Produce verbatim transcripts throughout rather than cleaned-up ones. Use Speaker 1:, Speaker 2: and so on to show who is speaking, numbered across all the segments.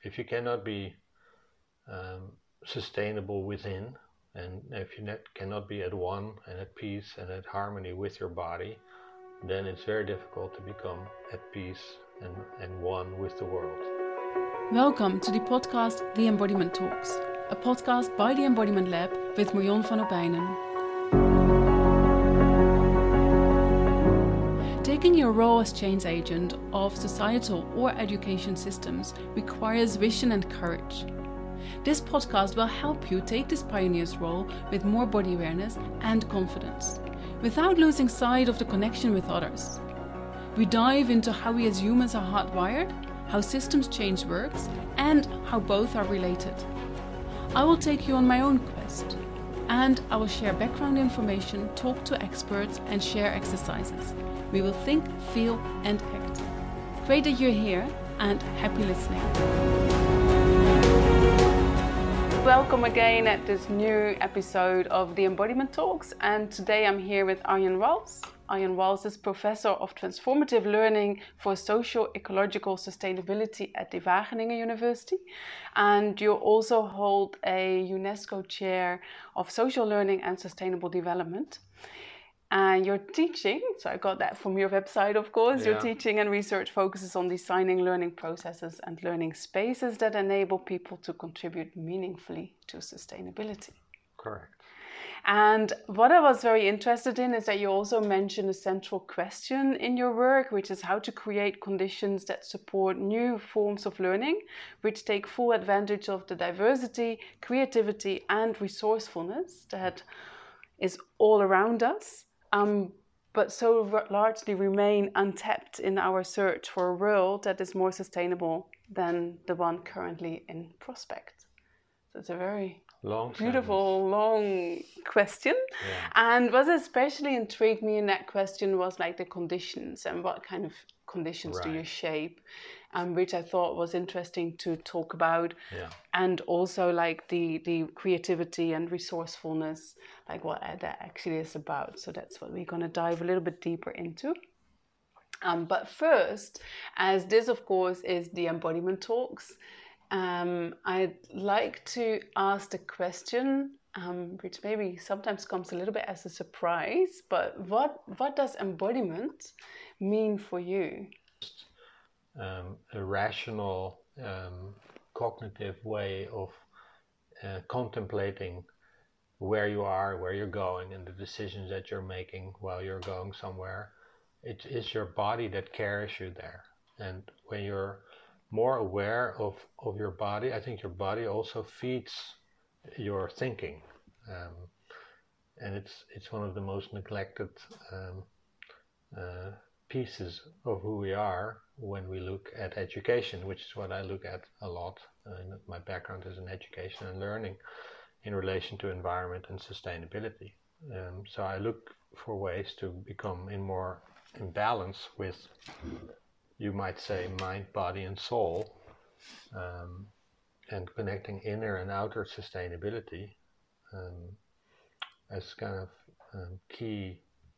Speaker 1: if you cannot be um, sustainable within, and if you net, cannot be at one and at peace and at harmony with your body, then it's very difficult to become at peace and, and one with the world.
Speaker 2: Welcome to the podcast The Embodiment Talks, a podcast by the Embodiment Lab with Marion van Opijnen. Taking your role as change agent of societal or education systems requires vision and courage. This podcast will help you take this pioneer's role with more body awareness and confidence, without losing sight of the connection with others. We dive into how we as humans are hardwired, how systems change works, and how both are related. I will take you on my own quest, and I will share background information, talk to experts, and share exercises. We will think, feel, and act. Great that you're here, and happy listening. Welcome again at this new episode of the Embodiment Talks, and today I'm here with Arjen Wals. Arjen Wals is Professor of Transformative Learning for Socio-Ecological Sustainability at the Wageningen University, and you also hold a UNESCO Chair of Social Learning and Sustainable Development. And your teaching, so I got that from your website, of course, yeah. Your teaching and research focuses on designing learning processes and learning spaces that enable people to contribute meaningfully to sustainability.
Speaker 1: Correct.
Speaker 2: And what I was very interested in is that you also mention a central question in your work, which is how to create conditions that support new forms of learning, which take full advantage of the diversity, creativity, and resourcefulness that is all around us. Um, but so r- largely remain untapped in our search for a world that is more sustainable than the one currently in prospect. So it's a very
Speaker 1: long
Speaker 2: beautiful,
Speaker 1: sentence.
Speaker 2: long question.
Speaker 1: Yeah.
Speaker 2: And what especially intrigued me in that question was like the conditions and what kind of conditions
Speaker 1: Right.
Speaker 2: do you shape, um, which I thought was interesting to talk about.
Speaker 1: Yeah.
Speaker 2: And also like the, the creativity and resourcefulness, like what that actually is about. So that's what we're going to dive a little bit deeper into. Um, but first, as this of course is the Embodiment Talks, um, I'd like to ask the question, um, which maybe sometimes comes a little bit as a surprise, but what, what does embodiment mean for you?
Speaker 1: Um, a rational, um, cognitive way of uh, contemplating where you are, where you're going, and the decisions that you're making while you're going somewhere. It is your body that carries you there. And when you're more aware of, of your body, I think your body also feeds your thinking. Um, and it's it's one of the most neglected um, uh, pieces of who we are when we look at education, which is what I look at a lot. Uh, my background is in education and learning in relation to environment and sustainability. Um, so I look for ways to become in more in balance with, you might say, mind, body, and soul, um, and connecting inner and outer sustainability um, as kind of um, key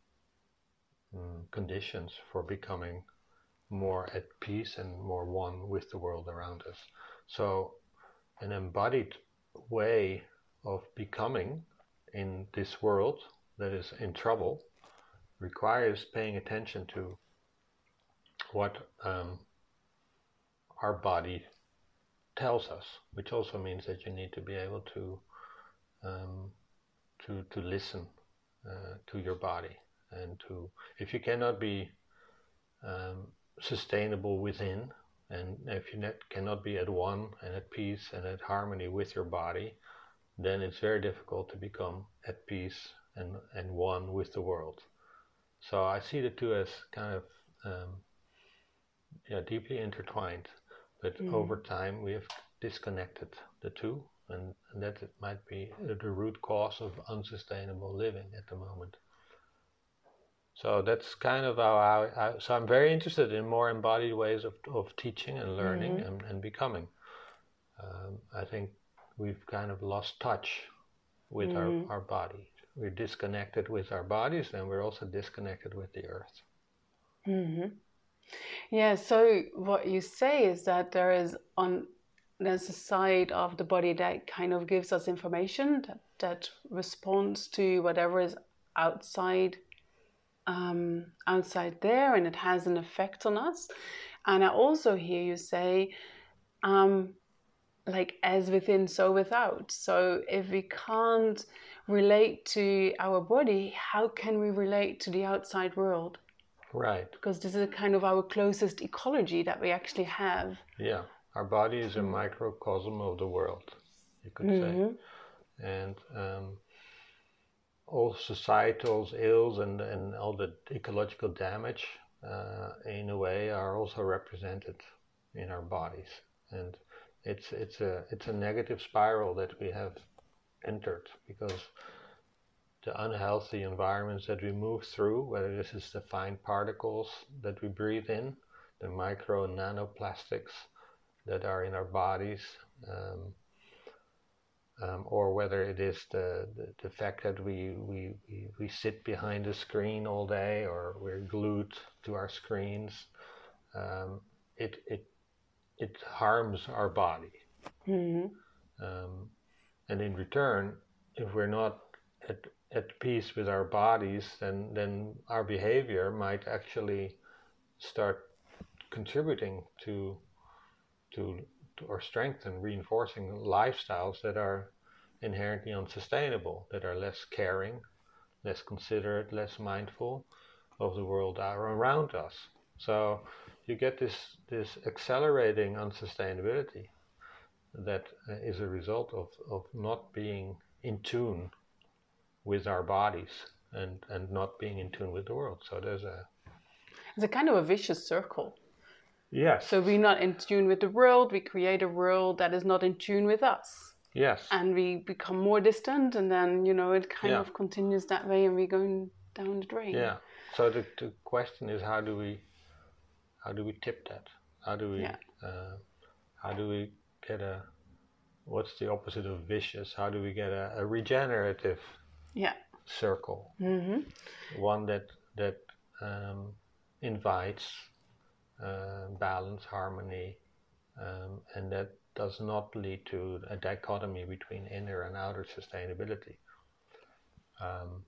Speaker 1: um, conditions for becoming more at peace and more one with the world around us. So an embodied way of becoming in this world that is in trouble requires paying attention to what um, our body tells us, which also means that you need to be able to um, to to listen uh, to your body, and to, if you cannot be um, sustainable within, and if you net, cannot be at one and at peace and at harmony with your body, then it's very difficult to become at peace and, and one with the world. So I see the two as kind of um, yeah, deeply intertwined, but mm. over time we have disconnected the two, and, and that it might be the root cause of unsustainable living at the moment. So that's kind of how I, I so I'm very interested in more embodied ways of, of teaching and learning mm-hmm. and, and becoming. Um, I think we've kind of lost touch with mm-hmm. our, our body. We're disconnected with our bodies, and we're also disconnected with the earth.
Speaker 2: Mm-hmm. Yeah, so what you say is that there is on there's a side of the body that kind of gives us information that, that responds to whatever is outside um, outside there, and it has an effect on us. And I also hear you say, um, like, as within, so without. So if we can't relate to our body, how can we relate to the outside world?
Speaker 1: Right.
Speaker 2: Because this is kind of our closest ecology that we actually have.
Speaker 1: Yeah. Our body is a mm. microcosm of the world, you could mm-hmm. say. And um, all societal ills and, and all the ecological damage, uh, in a way, are also represented in our bodies. And it's it's a it's a negative spiral that we have entered, because the unhealthy environments that we move through, whether this is the fine particles that we breathe in, the micro and nanoplastics that are in our bodies, um, um, or whether it is the, the, the fact that we, we, we, we sit behind a screen all day, or we're glued to our screens, um, it, it, it harms our body.
Speaker 2: Mm-hmm.
Speaker 1: Um, and in return, if we're not at, at peace with our bodies, then, then our behavior might actually start contributing to To, to or strengthen, reinforcing lifestyles that are inherently unsustainable, that are less caring, less considerate, less mindful of the world around us. So you get this this accelerating unsustainability that is a result of, of not being in tune with our bodies and, and not being in tune with the world. So there's a
Speaker 2: it's a kind of a vicious circle.
Speaker 1: Yes.
Speaker 2: So we're not in tune with the world, we create a world that is not in tune with us.
Speaker 1: Yes.
Speaker 2: And we become more distant, and then, you know, it kind yeah. of continues that way, and we're going down the drain.
Speaker 1: Yeah. So the, the question is, how do we how do we tip that? How do we yeah. uh, how do we get a what's the opposite of vicious? How do we get a, a regenerative
Speaker 2: yeah.
Speaker 1: circle?
Speaker 2: Mm-hmm.
Speaker 1: One that that um, invites Uh, balance, harmony, um, and that does not lead to a dichotomy between inner and outer sustainability. Um,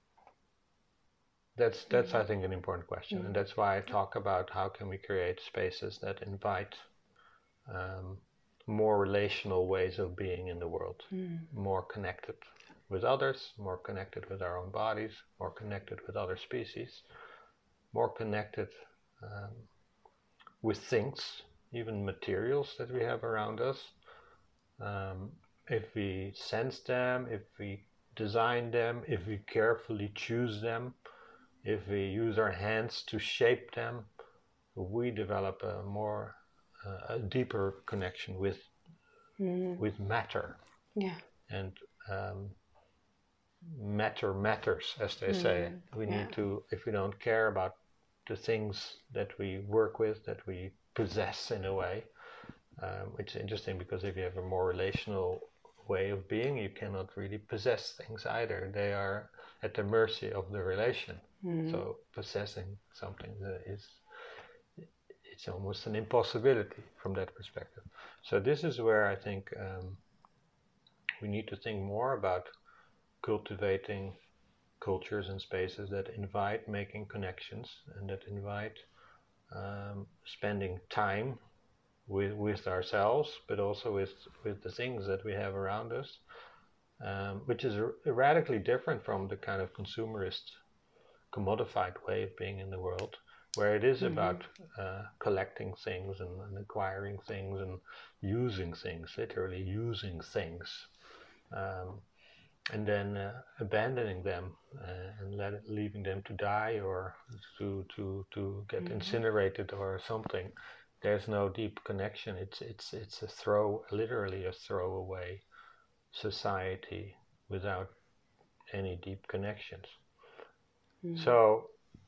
Speaker 1: that's that's mm-hmm. I think an important question, mm-hmm. and that's why I talk about how can we create spaces that invite um, more relational ways of being in the world, mm. more connected with others, more connected with our own bodies, more connected with other species, more connected um, with things, even materials that we have around us. Um, if we sense them, if we design them, if we carefully choose them, if we use our hands to shape them, we develop a more, uh, a deeper connection with mm. with matter.
Speaker 2: Yeah.
Speaker 1: And um, matter matters, as they mm. say. We yeah. need to, if we don't care about the things that we work with, that we possess in a way. Um, it's interesting because if you have a more relational way of being, you cannot really possess things either. They are at the mercy of the relation. Mm-hmm. So possessing something is, it's almost an impossibility from that perspective. So this is where I think um, we need to think more about cultivating cultures and spaces that invite making connections and that invite um, spending time with with ourselves, but also with with the things that we have around us, um, which is r- radically different from the kind of consumerist, commodified way of being in the world, where it is mm-hmm. about uh, collecting things and, and acquiring things and using things, literally using things. Um, and then uh, abandoning them uh, and let it, leaving them to die or to to to get mm-hmm. incinerated or something. There's no deep connection. It's it's it's a throw, literally a throwaway society without any deep connections. Mm-hmm. So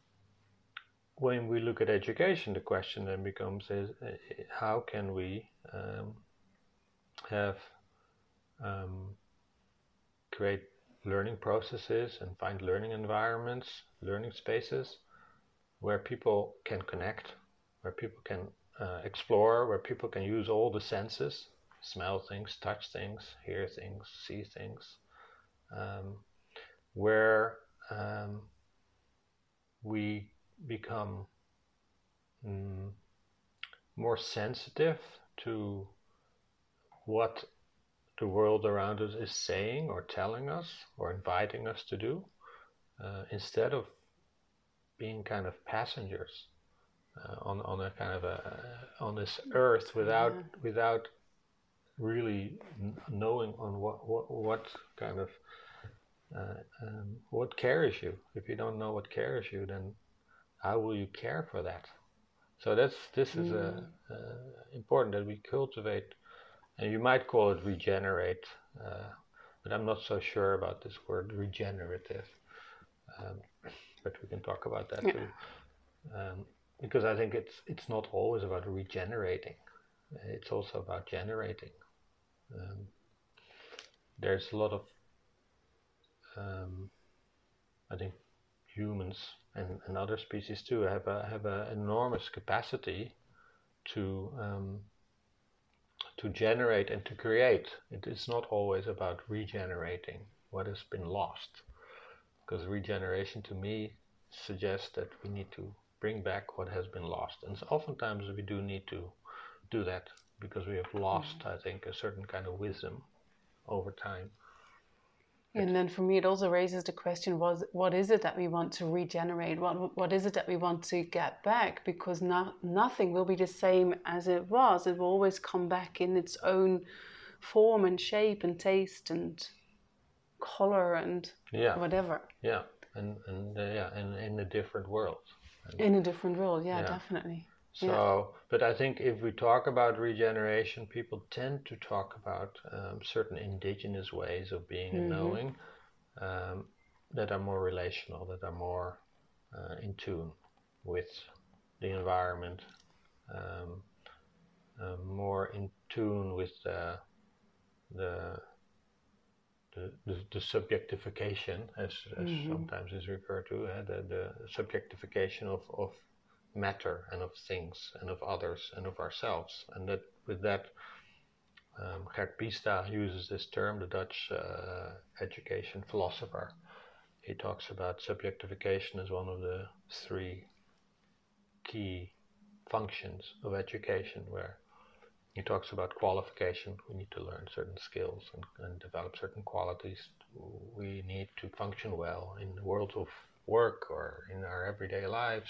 Speaker 1: when we look at education, the question then becomes: is uh, how can we um, have um, create learning processes and find learning environments, learning spaces where people can connect, where people can uh, explore, where people can use all the senses smell things, touch things, hear things, see things, um, where um, we become mm, more sensitive to what the world around us is saying or telling us or inviting us to do, uh, instead of being kind of passengers uh, on on a kind of a on this earth without
Speaker 2: Yeah.
Speaker 1: without really n- knowing on what what, what kind of uh, um, what carries you. If you don't know what carries you, then how will you care for that? So that's this is
Speaker 2: Mm.
Speaker 1: a, uh, important that we cultivate, and you might call it regenerate, uh, but I'm not so sure about this word regenerative. Um, but we can talk about that
Speaker 2: Yeah.
Speaker 1: too, um, because I think it's it's not always about regenerating; it's also about generating. Um, there's a lot of, um, I think, humans and, and other species too have a have an enormous capacity to um, to generate and to create. It is not always about regenerating what has been lost, because regeneration to me suggests that we need to bring back what has been lost, and so oftentimes we do need to do that because we have lost, mm. I think, a certain kind of wisdom over time.
Speaker 2: And then for me, it also raises the question: was what is it that we want to regenerate? What what is it that we want to get back? Because not, nothing will be the same as it was. It will always come back in its own form and shape and taste and color and
Speaker 1: yeah.
Speaker 2: whatever.
Speaker 1: Yeah, and and uh, yeah, and in a different world. And
Speaker 2: in a different world, yeah,
Speaker 1: yeah.
Speaker 2: definitely.
Speaker 1: So,
Speaker 2: yeah.
Speaker 1: But I think if we talk about regeneration, people tend to talk about um, certain indigenous ways of being mm-hmm. and knowing um, that are more relational, that are more uh, in tune with the environment, um, uh, more in tune with the the the, the, the subjectification, as, as mm-hmm. sometimes is referred to, uh, the, the subjectification of, of matter and of things and of others and of ourselves. And that with that, um, Gert Biesta uses this term, the Dutch uh, education philosopher. He talks about subjectification as one of the three key functions of education, where he talks about qualification. We need to learn certain skills and, and develop certain qualities. We need to function well in the world of work or in our everyday lives.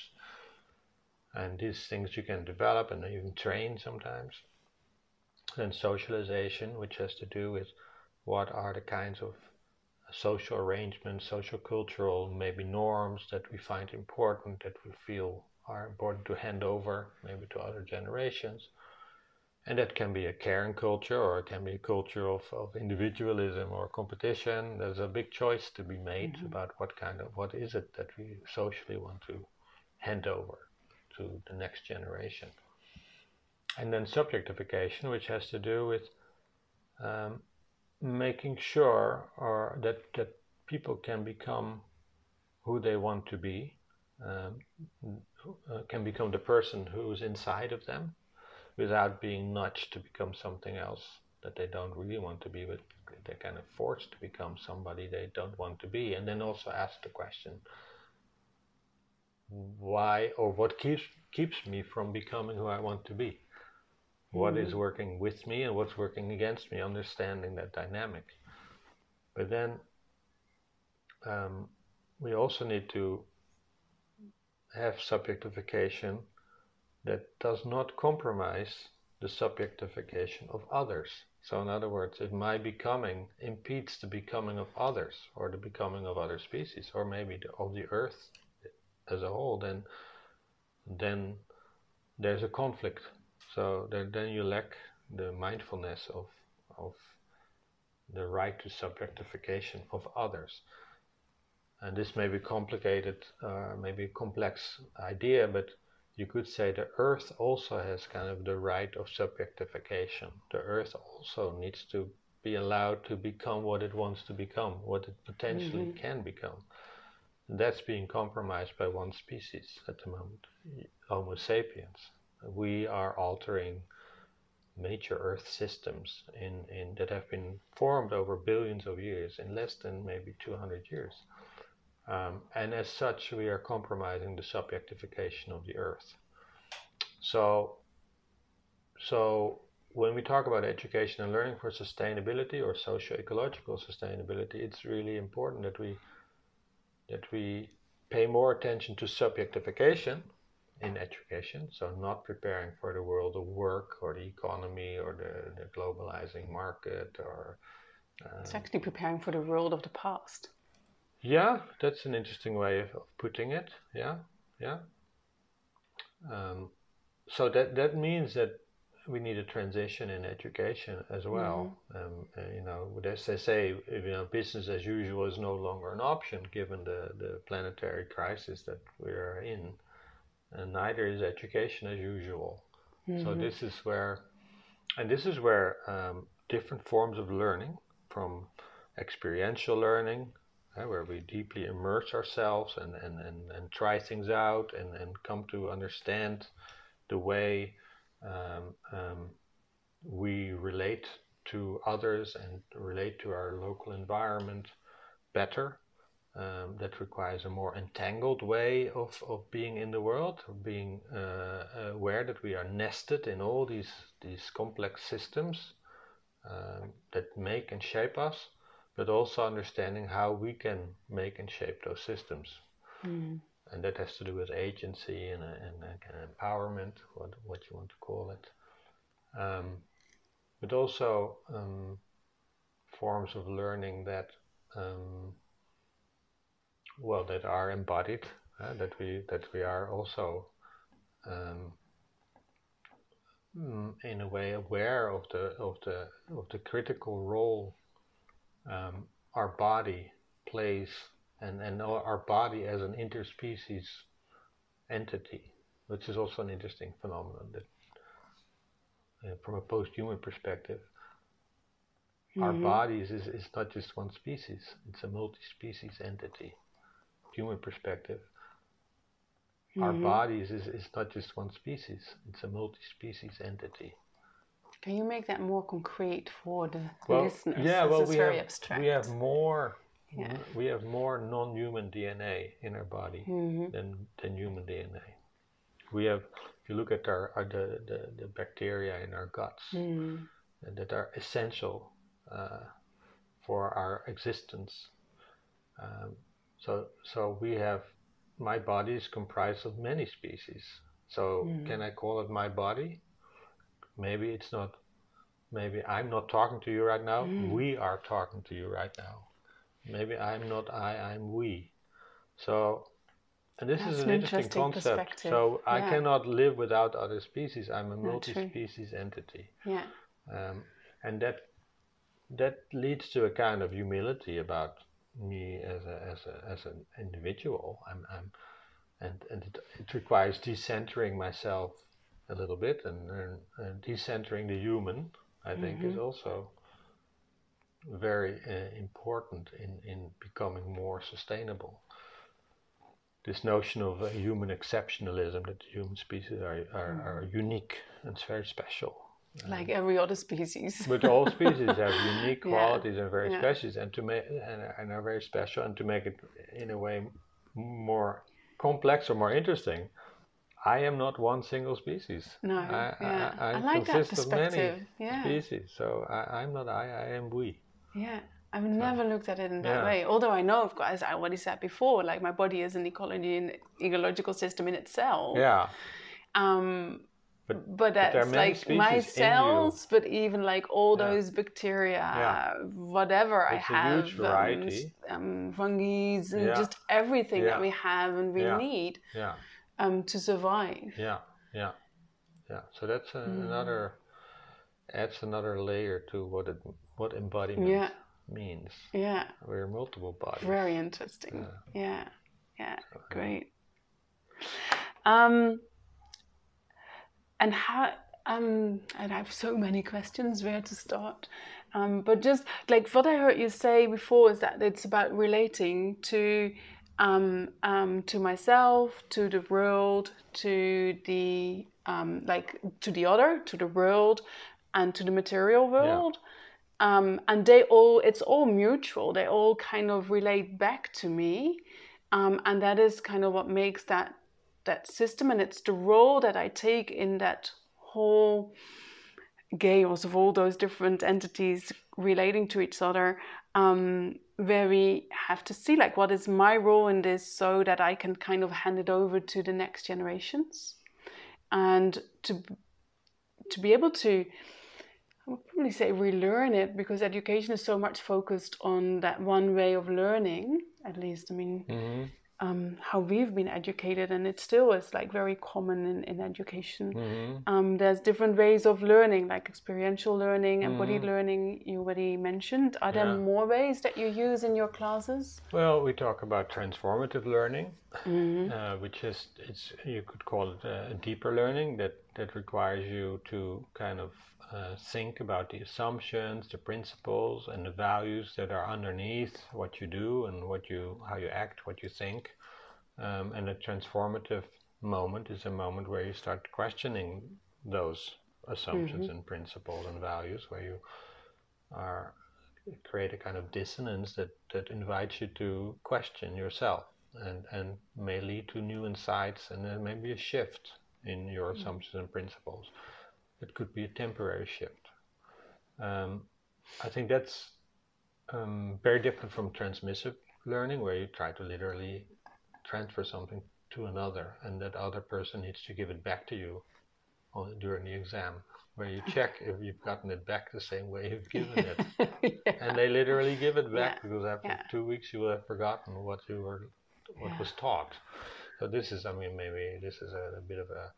Speaker 1: And these things you can develop and even train sometimes. Then socialization, which has to do with what are the kinds of social arrangements, social cultural maybe norms that we find important, that we feel are important to hand over maybe to other generations. And that can be a caring culture, or it can be a culture of, of individualism or competition. There's a big choice to be made mm-hmm. about what kind of, what is it that we socially want to hand over to the next generation. And then subjectification, which has to do with um, making sure or that, that people can become who they want to be, um, uh, can become the person who's inside of them, without being nudged to become something else that they don't really want to be, but they're kind of forced to become somebody they don't want to be. And then also ask the question, why or what keeps keeps me from becoming who I want to be? Mm-hmm. What is working with me and what's working against me? Understanding that dynamic. But then um, we also need to have subjectification that does not compromise the subjectification of others. So in other words, if my becoming impedes the becoming of others, or the becoming of other species, or maybe the, of the earth as a whole, then then there's a conflict. So then, then you lack the mindfulness of of the right to subjectification of others. And this may be complicated, uh, maybe a complex idea, but you could say the earth also has kind of the right of subjectification. The earth also needs to be allowed to become what it wants to become, what it potentially mm-hmm. can become. And that's being compromised by one species at the moment, Homo sapiens. We are altering major Earth systems in, in that have been formed over billions of years in less than maybe two hundred years. Um, and as such, we are compromising the subjectification of the Earth. So, so when we talk about education and learning for sustainability or socio-ecological sustainability, it's really important that we that we pay more attention to subjectification in education, so not preparing for the world of work or the economy or the, the globalizing market or
Speaker 2: um, it's actually preparing for the world of the past.
Speaker 1: Yeah, that's an interesting way of, of putting it. Yeah, yeah. Um, so that that means that we need a transition in education as well. Mm-hmm. Um, uh, you know, as they say, you know, business as usual is no longer an option given the, the planetary crisis that we are in, and neither is education as usual. Mm-hmm. So this is where, and this is where um, different forms of learning, from experiential learning, uh, where we deeply immerse ourselves and, and, and, and try things out and, and come to understand the way um, um, we relate to others and relate to our local environment better. Um, that requires a more entangled way of, of being in the world, of being uh, aware that we are nested in all these, these complex systems um, that make and shape us, but also understanding how we can make and shape those systems. Mm. And that has to do with agency and, and, and empowerment, what, what you want to call it. Um, but also um, forms of learning that um, well, that are embodied, uh, that we that we are also um, in a way aware of the of the of the critical role um, our body plays, and and our body as an interspecies entity, which is also an interesting phenomenon. That, uh, from a post-human perspective, mm-hmm. our bodies is is not just one species; it's a multi-species entity. Human perspective, mm-hmm. our bodies is, is not just one species, it's a multi-species entity.
Speaker 2: Can you make that more concrete for the
Speaker 1: well,
Speaker 2: listeners?
Speaker 1: Yeah, well, we
Speaker 2: very
Speaker 1: have,
Speaker 2: abstract.
Speaker 1: we have more
Speaker 2: yeah.
Speaker 1: n- we have more non-human D N A in our body mm-hmm. than, than human D N A. We have, if you look at our, our the, the, the bacteria in our guts mm. that are essential uh, for our existence. Um, So, so we have, my body is comprised of many species. So mm. can I call it my body? Maybe it's not, maybe I'm not talking to you right now. Mm. We are talking to you right now. Maybe I'm not I, I'm we. So, and this
Speaker 2: That's
Speaker 1: is an,
Speaker 2: an
Speaker 1: interesting,
Speaker 2: interesting
Speaker 1: concept. So
Speaker 2: yeah.
Speaker 1: I cannot live without other species. I'm a multi-species entity.
Speaker 2: Yeah.
Speaker 1: Um, and that, that leads to a kind of humility about me as a as a as an individual. I'm I'm and and it, it requires decentering myself a little bit, and, and, and decentering the human, I think, mm-hmm. is also very uh, important in in becoming more sustainable. This notion of uh, human exceptionalism, that the human species are are, mm. are unique and very special.
Speaker 2: Like every other species.
Speaker 1: But all species have unique qualities yeah. and very
Speaker 2: yeah.
Speaker 1: special, and to make and, and are very special, and to make it in a way more complex or more interesting, I am not one single species.
Speaker 2: No,
Speaker 1: I,
Speaker 2: yeah.
Speaker 1: I, I,
Speaker 2: I like
Speaker 1: consist
Speaker 2: that perspective.
Speaker 1: of many
Speaker 2: yeah.
Speaker 1: species, so I, I'm not I, I am we.
Speaker 2: Yeah, I've never so, looked at it in that
Speaker 1: yeah.
Speaker 2: way. Although I know, of course, as I already said before, like my body is an ecology and ecological system in itself.
Speaker 1: Yeah.
Speaker 2: Um, But, but that's
Speaker 1: but
Speaker 2: like my cells, but even like all yeah. those bacteria, yeah. whatever
Speaker 1: it's
Speaker 2: I have,
Speaker 1: a huge variety.
Speaker 2: um, um, fungi, and
Speaker 1: yeah.
Speaker 2: just everything
Speaker 1: yeah.
Speaker 2: that we have and we
Speaker 1: yeah.
Speaker 2: need
Speaker 1: yeah.
Speaker 2: um, to survive.
Speaker 1: Yeah, yeah, yeah. So that's a, mm. another, adds another layer to what it, what embodiment
Speaker 2: yeah.
Speaker 1: means.
Speaker 2: Yeah.
Speaker 1: We're multiple bodies.
Speaker 2: Very interesting. Uh, yeah, yeah,
Speaker 1: so,
Speaker 2: great. Um, And how, um, and I have so many questions where to start. Um, but just like what I heard you say before is that it's about relating to, um, um, to myself, to the world, to the, um, like to the other, to the world, and to the material world. Yeah. Um, and they all, it's all mutual. They all kind of relate back to me. Um, and that is kind of what makes that that system, and it's the role that I take in that whole chaos of all those different entities relating to each other, um, where we have to see like what is my role in this, so that I can kind of hand it over to the next generations, and to to be able to, I would probably say, relearn it, because education is so much focused on that one way of learning, at least, I mean, mm-hmm. um, how we've been educated, and it still is like very common in, in education. Mm-hmm. Um, there's different ways of learning, like experiential learning, mm-hmm. embodied learning, you already mentioned. Are there yeah. more ways that you use in your classes?
Speaker 1: Well, we talk about transformative learning, mm-hmm. uh, which is, it's, you could call it a deeper learning that, that requires you to kind of uh, think about the assumptions, the principles, and the values that are underneath what you do and what you, how you act, what you think. Um, and a transformative moment is a moment where you start questioning those assumptions mm-hmm. and principles and values, where you are create a kind of dissonance that, that invites you to question yourself, and, and may lead to new insights, and then maybe a shift in your mm-hmm. assumptions and principles. It could be a temporary shift. Um, I think that's um, very different from transmissive learning, where you try to literally transfer something to another, and that other person needs to give it back to you on, during the exam, where you check if you've gotten it back the same way you've given it. yeah. And they literally give it back, yeah. because after yeah. two weeks you will have forgotten what you were, what yeah. was taught. So this is, I mean, maybe this is a, a bit of a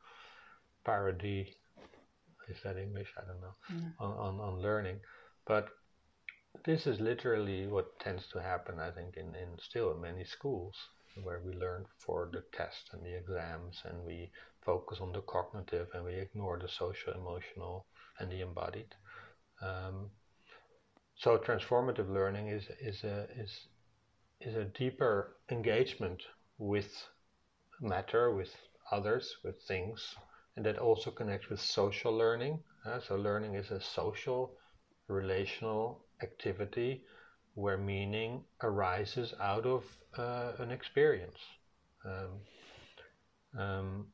Speaker 1: parody, is that English? I don't know, mm. on, on, on learning. But this is literally what tends to happen, I think, in, in still in many schools, where we learn for the test and the exams, and we focus on the cognitive, and we ignore the social, emotional, and the embodied. Um, so transformative learning is is a is is a deeper engagement with matter, with others, with things, and that also connects with social learning. Uh, so learning is a social, relational activity where meaning arises out of uh, an experience. Um, um,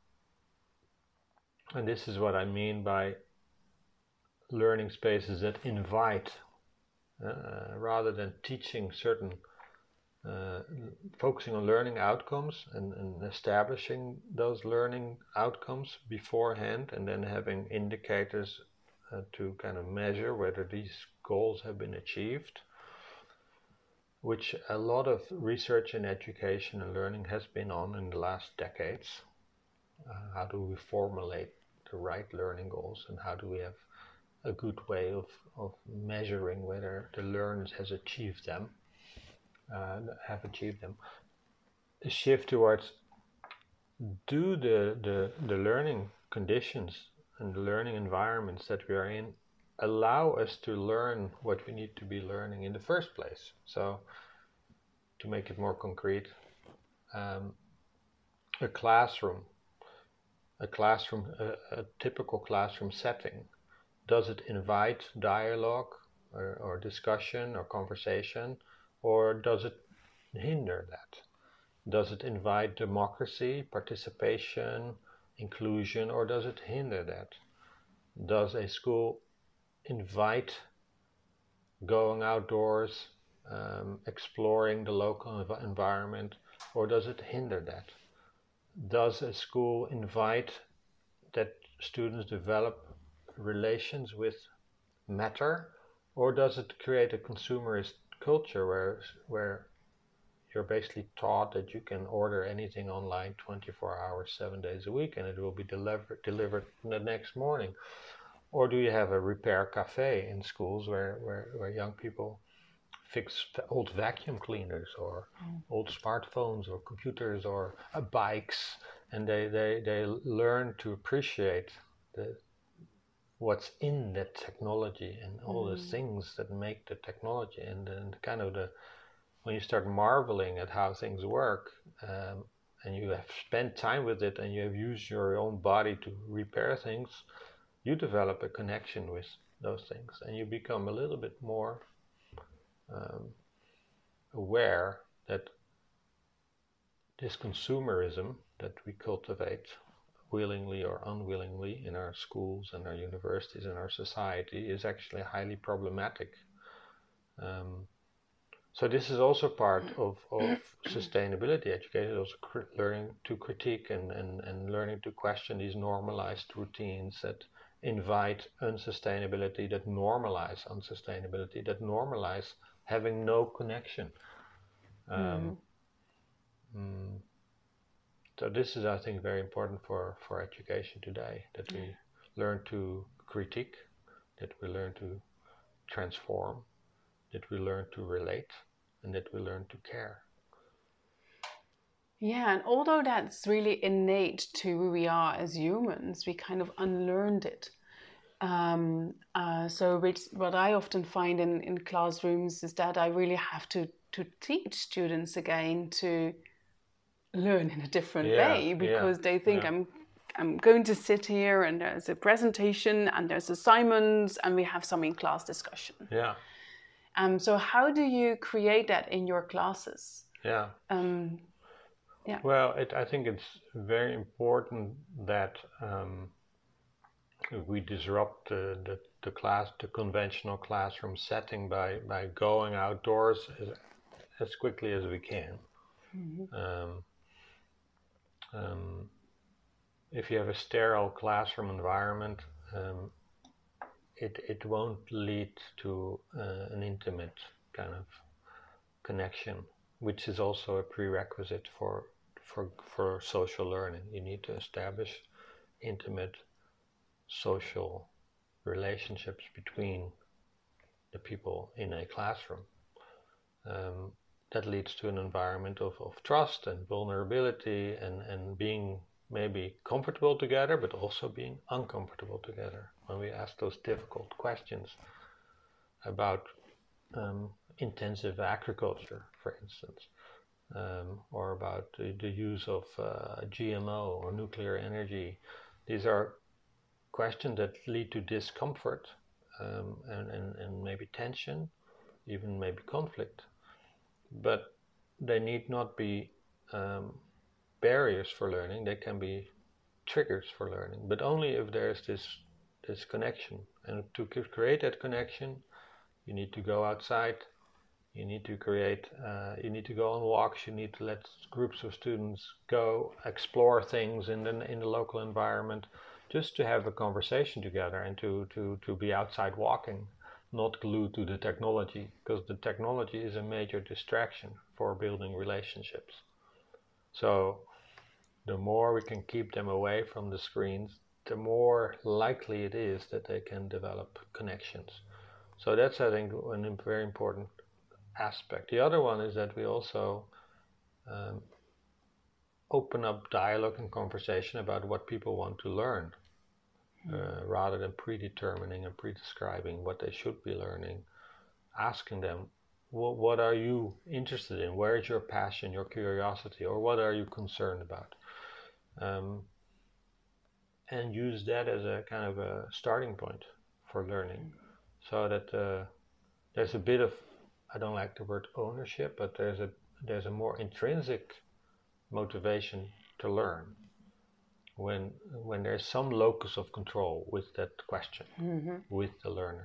Speaker 1: and this is what I mean by learning spaces that invite, uh, rather than teaching certain, uh, focusing on learning outcomes and, and establishing those learning outcomes beforehand, and then having indicators uh, to kind of measure whether these goals have been achieved, which a lot of research in education and learning has been on in the last decades. Uh, how do we formulate the right learning goals, and how do we have a good way of, of measuring whether the learner has achieved them, uh, have achieved them. The shift towards, do the, the, the learning conditions and the learning environments that we are in allow us to learn what we need to be learning in the first place. So to make it more concrete, um, a classroom, a classroom, a, a typical classroom setting, does it invite dialogue or, or discussion or conversation, or does it hinder that? Does it invite democracy, participation, inclusion, or does it hinder that? Does a school invite going outdoors, um, exploring the local env- environment, or does it hinder that? Does a school invite that students develop relations with matter, or does it create a consumerist culture where where you're basically taught that you can order anything online twenty-four hours, seven days a week, and it will be delivered delivered the next morning? Or do you have a repair cafe in schools where, where, where young people fix old vacuum cleaners or mm. old smartphones or computers or uh, bikes, and they, they, they learn to appreciate the what's in that technology and all mm. the things that make the technology, and then kind of the, when you start marveling at how things work, um, and you have spent time with it and you have used your own body to repair things, you develop a connection with those things, and you become a little bit more um, aware that this consumerism that we cultivate willingly or unwillingly in our schools and our universities and our society is actually highly problematic. Um, so this is also part of, of sustainability education, also cr- learning to critique and, and, and learning to question these normalized routines that invite unsustainability, that normalize unsustainability, that normalize having no connection. Um, mm. Mm, so this is, I think, very important for, for education today, that we learn to critique, that we learn to transform, that we learn to relate, and that we learn to care.
Speaker 2: Yeah, and although that's really innate to who we are as humans, we kind of unlearned it. Um, uh, so which, what I often find in, in classrooms is that I really have to, to teach students again to learn in a different
Speaker 1: Yeah,
Speaker 2: way, because
Speaker 1: yeah,
Speaker 2: they think
Speaker 1: yeah.
Speaker 2: I'm I'm going to sit here and there's a presentation and there's assignments and we have some in-class discussion.
Speaker 1: Yeah.
Speaker 2: Um, so how do you create that in your classes?
Speaker 1: Yeah.
Speaker 2: Um, yeah.
Speaker 1: Well, it, I think it's very important that um, we disrupt the, the, the class, the conventional classroom setting by, by going outdoors as, as quickly as we can. Mm-hmm. Um, um, if you have a sterile classroom environment, um, it, it won't lead to uh, an intimate kind of connection, which is also a prerequisite for, for, for social learning. You need to establish intimate social relationships between the people in a classroom. Um, that leads to an environment of, of trust and vulnerability and, and being maybe comfortable together, but also being uncomfortable together. When we ask those difficult questions about um, intensive agriculture, for instance, um, or about the, the use of uh, G M O or nuclear energy, these are questions that lead to discomfort um, and, and, and maybe tension, even maybe conflict. But they need not be um, barriers for learning. They can be triggers for learning, but only if there's this this connection. And to create that connection, you need to go outside. You need to create. Uh, you need to go on walks. You need to let groups of students go explore things in the in the local environment, just to have a conversation together and to to to be outside walking. Not glued to the technology, because the technology is a major distraction for building relationships. So the more we can keep them away from the screens, the more likely it is that they can develop connections. So that's, I think, a very important aspect. The other one is that we also um, open up dialogue and conversation about what people want to learn. Uh, rather than predetermining and prescribing what they should be learning, asking them, what, what are you interested in? Where is your passion, your curiosity, or what are you concerned about? Um, and use that as a kind of a starting point for learning, so that uh, there's a bit of, I don't like the word ownership, but there's a there's a more intrinsic motivation to learn when when there's some locus of control with that question, mm-hmm. with the learner.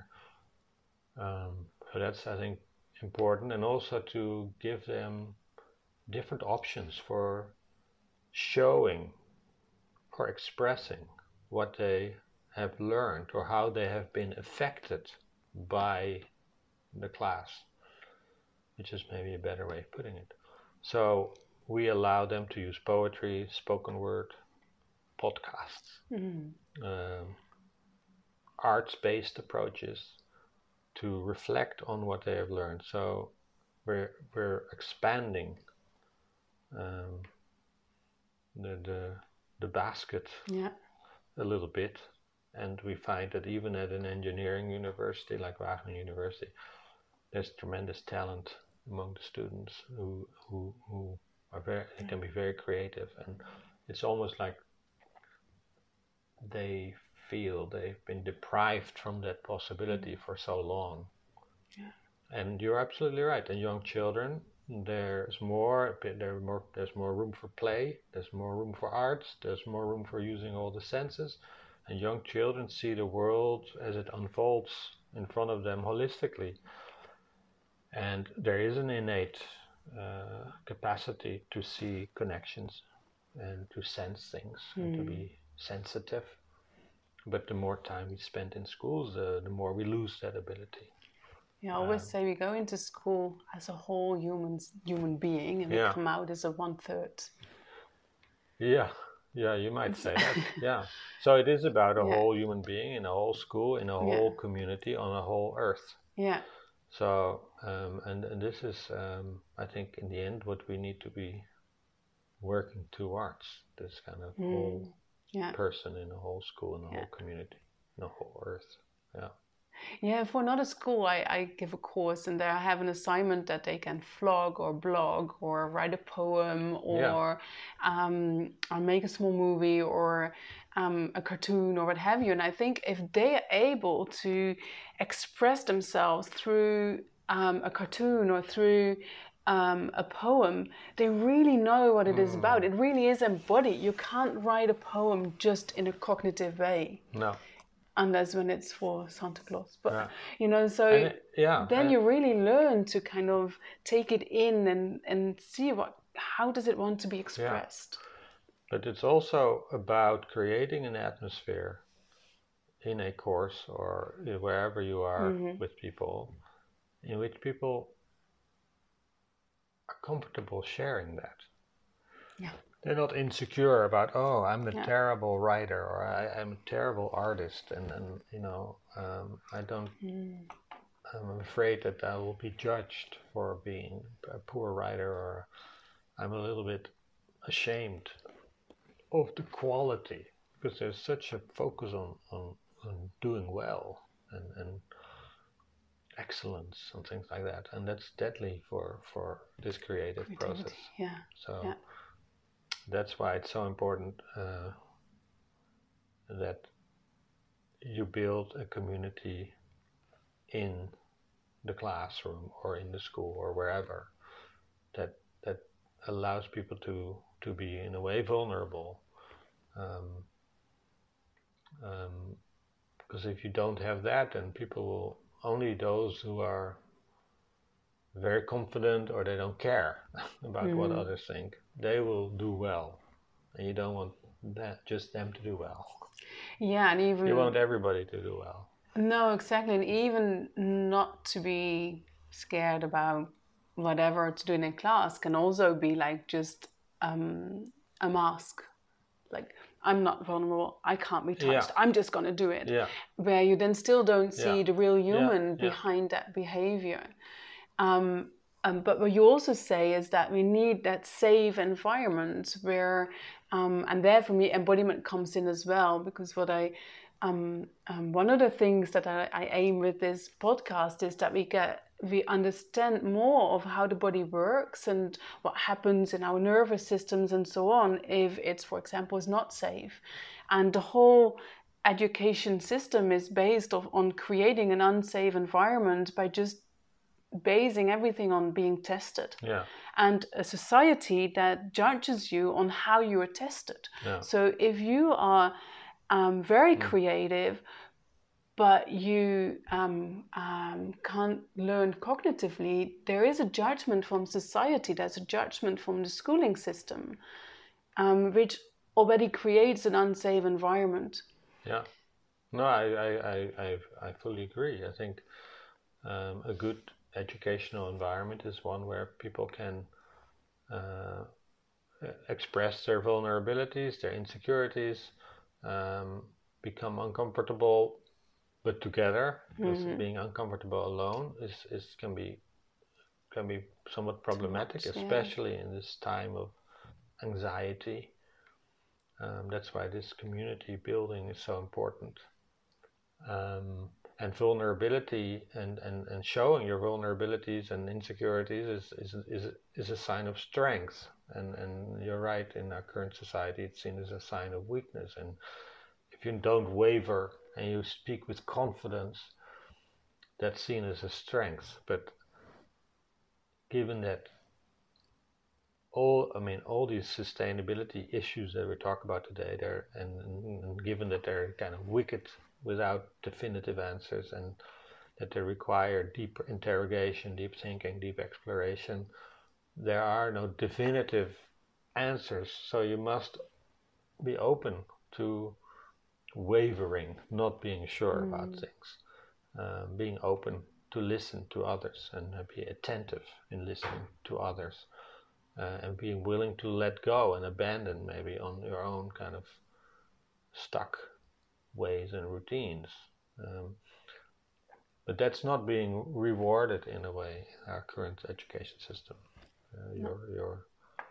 Speaker 1: Um, so that's, I think, important, and also to give them different options for showing or expressing what they have learned or how they have been affected by the class, which is maybe a better way of putting it. So we allow them to use poetry, spoken word, podcasts, mm-hmm. um, arts-based approaches to reflect on what they have learned. So we're we're expanding um, the the the basket
Speaker 2: yeah.
Speaker 1: a little bit, and we find that even at an engineering university like Wageningen University, there's tremendous talent among the students who who who are very they can be very creative, and it's almost like they feel they've been deprived from that possibility mm. for so long.
Speaker 2: Yeah.
Speaker 1: And you're absolutely right. And young children, there's more, there more, there's more room for play, there's more room for arts, there's more room for using all the senses. And young children see the world as it unfolds in front of them holistically. And there is an innate uh, capacity to see connections and to sense things mm. and to be sensitive. But the more time we spend in schools, uh, the more we lose that ability.
Speaker 2: Yeah, I always um, say we go into school as a whole human human being, and
Speaker 1: yeah.
Speaker 2: we come out as a one third.
Speaker 1: Yeah, yeah, you might say that. Yeah. So it is about a yeah. whole human being in a whole school, in a whole yeah. community, on a whole earth.
Speaker 2: Yeah.
Speaker 1: So, um, and, and this is, um, I think, in the end, what we need to be working towards, this kind of mm. whole yeah. person in a whole school, in a yeah. whole community, in a whole earth. Yeah.
Speaker 2: Yeah, for another school, I, I give a course, and there I have an assignment that they can vlog or blog or write a poem or yeah. um, or make a small movie or um, a cartoon or what have you. And I think if they are able to express themselves through um, a cartoon or through um, a poem, they really know what it mm. is about. It really is embodied. You can't write a poem just in a cognitive way.
Speaker 1: No.
Speaker 2: Unless when it's for Santa Claus, but
Speaker 1: yeah.
Speaker 2: you know, so
Speaker 1: it, yeah,
Speaker 2: then you really learn to kind of take it in and, and see what, how does it want to be expressed.
Speaker 1: Yeah. But it's also about creating an atmosphere in a course or wherever you are mm-hmm. with people, in which people are comfortable sharing that.
Speaker 2: Yeah.
Speaker 1: They're not insecure about, oh, I'm a yeah. terrible writer or I, I'm a terrible artist, and, and you know, um, I don't, mm. I'm afraid that I will be judged for being a poor writer, or I'm a little bit ashamed of the quality, because there's such a focus on, on, on doing well and, and excellence and things like that, and that's deadly for, for this creative
Speaker 2: Creativity.
Speaker 1: process.
Speaker 2: Yeah.
Speaker 1: So.
Speaker 2: Yeah.
Speaker 1: That's why it's so important uh, that you build a community in the classroom or in the school or wherever that that allows people to, to be in a way vulnerable. Um, um, because if you don't have that, then people will, only those who are very confident or they don't care about mm. what others think, they will do well. And you don't want that, just them to do well.
Speaker 2: Yeah, and even...
Speaker 1: You want everybody to do well.
Speaker 2: No, exactly. And even not to be scared about whatever to do in a class can also be like just um, a mask. Like, I'm not vulnerable, I can't be touched, yeah. I'm just going to do it.
Speaker 1: Yeah.
Speaker 2: Where you then still don't see yeah. the real human
Speaker 1: yeah.
Speaker 2: behind yeah. that behavior. Um, um, but what you also say is that we need that safe environment where, um, and there for me embodiment comes in as well, because what I, um, um, one of the things that I, I aim with this podcast is that we get, we understand more of how the body works and what happens in our nervous systems and so on if it's, for example, is not safe. And the whole education system is based off, on creating an unsafe environment by just basing everything on being tested.
Speaker 1: Yeah.
Speaker 2: And a society that judges you on how you are tested.
Speaker 1: Yeah.
Speaker 2: So if you are um, very mm. creative, but you um, um, can't learn cognitively, there is a judgment from society, there's a judgment from the schooling system, um, which already creates an unsafe environment.
Speaker 1: Yeah. No, I, I, I, I, I fully agree. I think um, a good educational environment is one where people can uh, express their vulnerabilities, their insecurities, um, become uncomfortable, but together, because mm-hmm. being uncomfortable alone is, is can be can be somewhat problematic, much, especially yeah. in this time of anxiety. Um, that's why this community building is so important. Um, and vulnerability and, and, and showing your vulnerabilities and insecurities is, is, is, is a sign of strength. And, and you're right, in our current society it's seen as a sign of weakness. And if you don't waver and you speak with confidence, that's seen as a strength. But given that all, I mean, all these sustainability issues that we talk about today, they're, and, and, and given that they're kind of wicked without definitive answers, and that they require deep interrogation, deep thinking, deep exploration, there are no definitive answers. So you must be open to wavering, not being sure mm. about things, uh, being open to listen to others and uh, be attentive in listening to others, uh, and being willing to let go and abandon maybe on your own kind of stuck ways and routines. Um, but that's not being rewarded in a way in our current education system. Uh, no. You're you're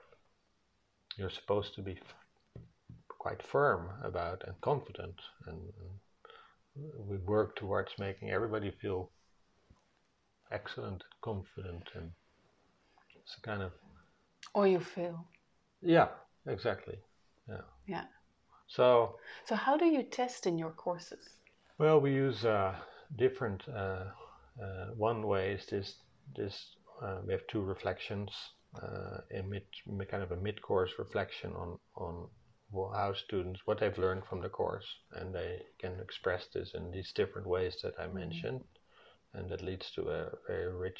Speaker 1: you're supposed to be f- quite firm about and confident, and, and we work towards making everybody feel excellent, confident, and it's a kind of.
Speaker 2: Or you feel.
Speaker 1: Yeah, exactly. Yeah.
Speaker 2: Yeah.
Speaker 1: So.
Speaker 2: So how do you test in your courses?
Speaker 1: Well, we use uh, different. Uh, uh, one way is this. This uh, we have two reflections. Uh, a mid, kind of a mid-course reflection on on how students, what they've learned from the course, and they can express this in these different ways that I mentioned, mm-hmm. and that leads to a very rich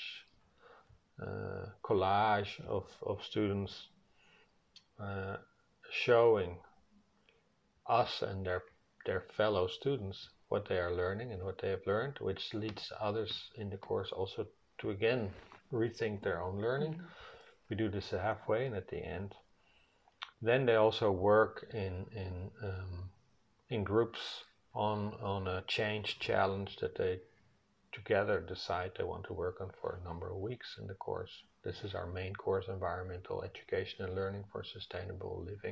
Speaker 1: uh, collage of of students uh, showing us and their their fellow students what they are learning and what they have learned, which leads others in the course also to again rethink their own learning. Mm-hmm. We do this halfway and at the end. Then they also work in in um, in groups on on a change challenge that they together decide they want to work on for a number of weeks in the course. This is our main course, Environmental Education and Learning for Sustainable Living.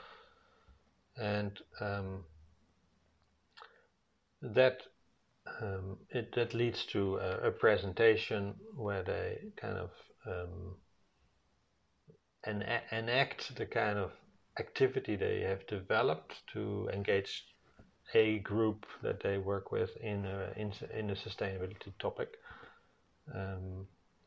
Speaker 1: And um, that um, it that leads to a, a presentation where they kind of um, en- enact the kind of activity they have developed to engage a group that they work with in a, in, in a sustainability topic. Um,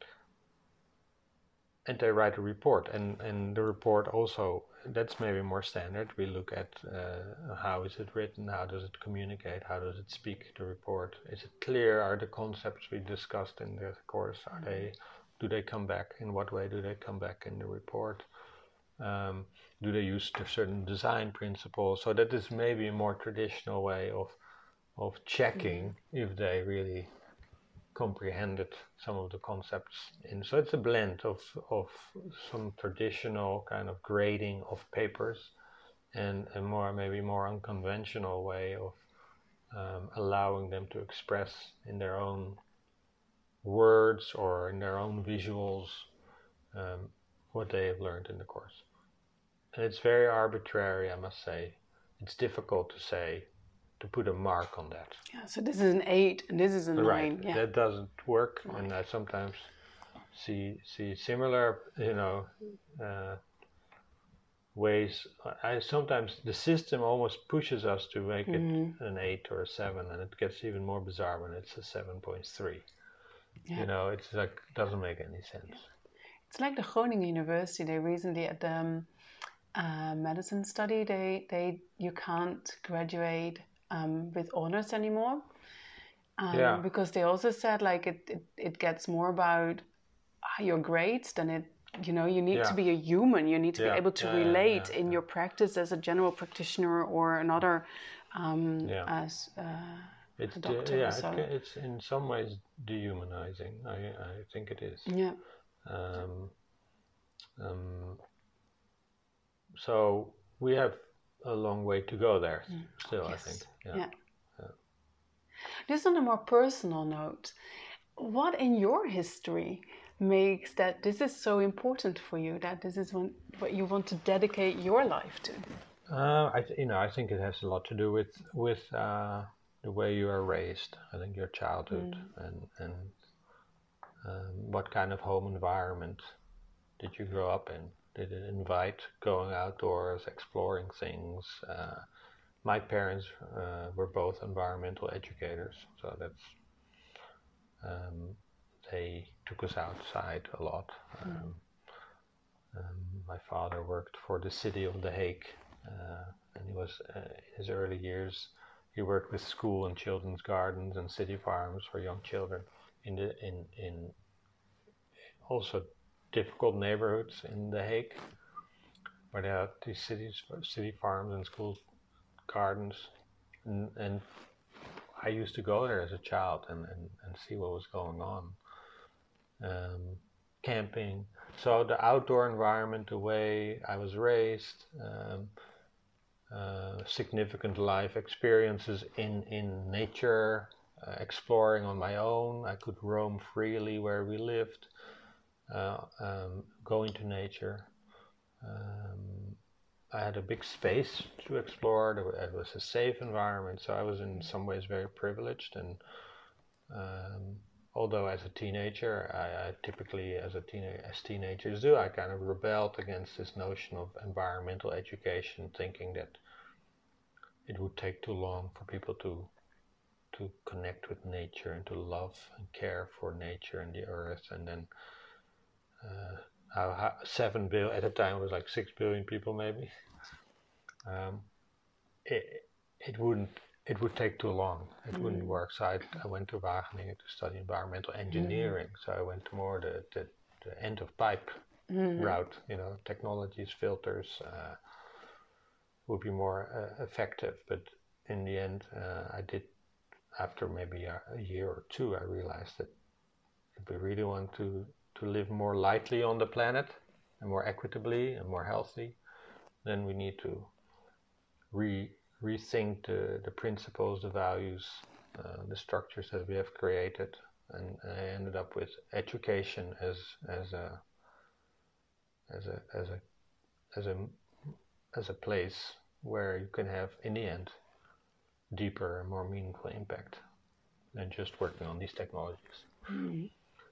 Speaker 1: and they write a report, and, and the report also, that's maybe more standard. We look at uh, how is it written, how does it communicate, how does it speak, the report. Is it clear? Are the concepts we discussed in the course, are mm-hmm. they, do they come back? In what way do they come back in the report? Um, do they use certain design principles? So that is maybe a more traditional way of of checking mm-hmm. if they really comprehended some of the concepts in. So it's a blend of of some traditional kind of grading of papers and a more maybe more unconventional way of um, allowing them to express in their own words or in their own visuals um, what they have learned in the course. And it's very arbitrary, I must say. It's difficult to say, to put a mark on that.
Speaker 2: Yeah, so this is an eight and this is a
Speaker 1: right.
Speaker 2: nine. Yeah.
Speaker 1: That doesn't work,
Speaker 2: right.
Speaker 1: and I sometimes see see similar, you know, uh, ways. I sometimes the system almost pushes us to make mm-hmm. it an eight or a seven, and it gets even more bizarre when it's a seven point three. Yeah. You know, it's like doesn't make any sense. Yeah.
Speaker 2: It's like the Groningen University. They recently at the um, uh, medicine study, they they you can't graduate um, with honors anymore. Um,
Speaker 1: yeah.
Speaker 2: Because they also said like it, it, it gets more about your grades than it, you know, you need yeah. to be a human. You need to yeah. be able to yeah, relate yeah, yeah, in yeah. your practice as a general practitioner or another um,
Speaker 1: yeah.
Speaker 2: as uh,
Speaker 1: it's
Speaker 2: a doctor.
Speaker 1: De- yeah,
Speaker 2: so.
Speaker 1: it, it's in some ways dehumanizing. I, I think it is.
Speaker 2: Yeah.
Speaker 1: Um, um, so we have a long way to go there mm. still, yes. I think. Yeah.
Speaker 2: yeah. Just on a more personal note, what in your history makes that this is so important for you, that this is one, what you want to dedicate your life to?
Speaker 1: Uh, I th- you know, I think it has a lot to do with with uh, the way you are raised. I think your childhood mm. and and um, what kind of home environment did you grow up in? Did it invite going outdoors, exploring things? Uh, my parents uh, were both environmental educators, so that's um, they took us outside a lot. Um, mm. um, my father worked for the city of The Hague, uh, and he was uh, in his early years. He worked with school and children's gardens and city farms for young children in the in in also difficult neighborhoods in The Hague, where there are these cities, city farms and school gardens, and, and I used to go there as a child and, and, and see what was going on. Um, camping, so the outdoor environment, the way I was raised, um, uh, significant life experiences in, in nature, uh, exploring on my own. I could roam freely where we lived, uh, um, go into nature. Um, I had a big space to explore. It was a safe environment, so I was in some ways very privileged. And um, although as a teenager, I, I typically, as a teen- as teenagers do, I kind of rebelled against this notion of environmental education, thinking that it would take too long for people to to connect with nature and to love and care for nature and the earth, and then. Uh, How, how seven billion at the time it was like six billion people maybe. Um, it it wouldn't it would take too long. It mm. wouldn't work. So I, I went to Wageningen to study environmental engineering. Mm. So I went to more the the, the end of pipe mm. route. You know, technologies, filters uh, would be more uh, effective. But in the end, uh, I did. After maybe a, a year or two, I realized that if we really want to to live more lightly on the planet and more equitably and more healthy, then we need to re rethink the, the principles, the values, uh, the structures that we have created. And I ended up with education as as a as a as a as a as a place where you can have, in the end, deeper and more meaningful impact than just working on these technologies. Mm-hmm.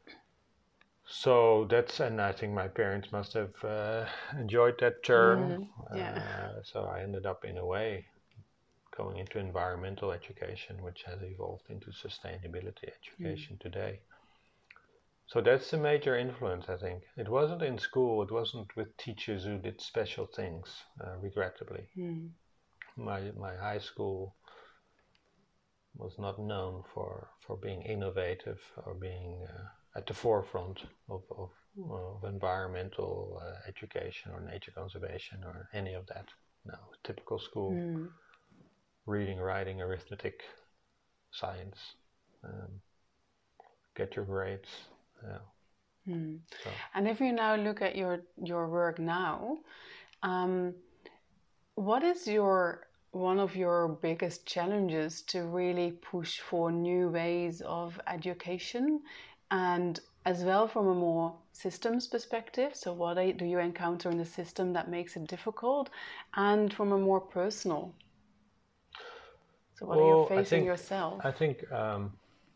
Speaker 1: So that's, and I think my parents must have uh, enjoyed that turn. Mm, yeah. Uh, so I ended up, in a way, going into environmental education, which has evolved into sustainability education mm. today. So that's a major influence, I think. It wasn't in school, it wasn't with teachers who did special things, uh, regrettably. Mm. My my high school was not known for, for being innovative or being uh, at the forefront of, of, of environmental uh, education or nature conservation or any of that. No, typical school. Mm. Reading, writing, arithmetic, science. Um, get your grades. Yeah.
Speaker 2: Mm. So. And if you now look at your, your work now, um, what is your one of your biggest challenges to really push for new ways of education, and as well from a more systems perspective? So what do you encounter in the system that makes it difficult, and from a more personal? So what well, are you facing
Speaker 1: I think,
Speaker 2: yourself?
Speaker 1: I think, um,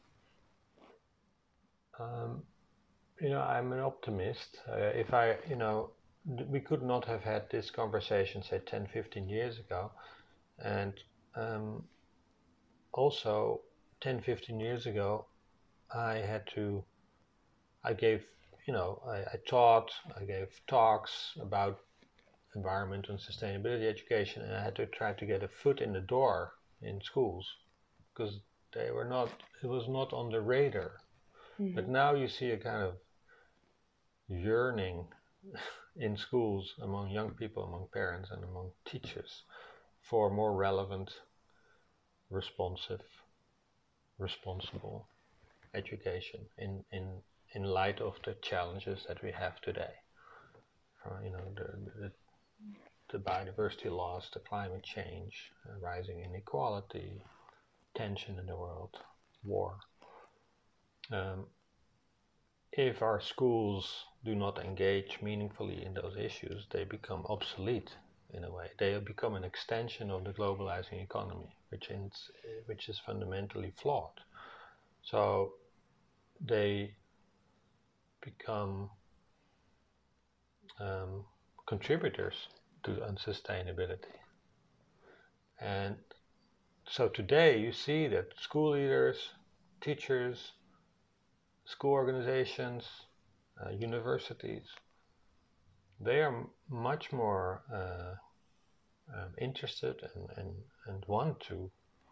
Speaker 1: um, you know, I'm an optimist. Uh, if I, you know, we could not have had this conversation, say, ten, fifteen years ago. And um, also, ten, fifteen years ago, I had to, I gave, you know, I, I taught, I gave talks about environment and sustainability education, and I had to try to get a foot in the door in schools because they were not, it was not on the radar. Mm-hmm. But now you see a kind of yearning in schools among young people, among parents, and among teachers for more relevant, responsive, responsible education in, in, in light of the challenges that we have today. Uh, you know, the, the, the biodiversity loss, the climate change, uh, rising inequality, tension in the world, war. Um, if our schools do not engage meaningfully in those issues, they become obsolete in a way. They become an extension of the globalizing economy, which is, which is fundamentally flawed. So they become um, contributors to unsustainability. And so today you see that school leaders, teachers, school organizations, uh, universities, they are m- much more uh, um, interested and, and, and want to